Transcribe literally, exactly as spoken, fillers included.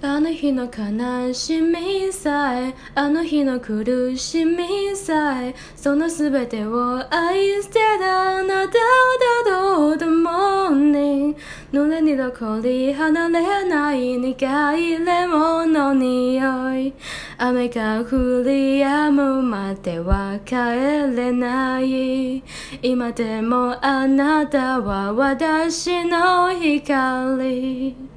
あの日の悲しみさえ、あの日の苦しみさえ、そのすべてを愛してたあなたをたどったモーニング、濡れに残り離れない苦いレモンの匂い、雨が降り止むまでは帰れない、今でもあなたは私の光。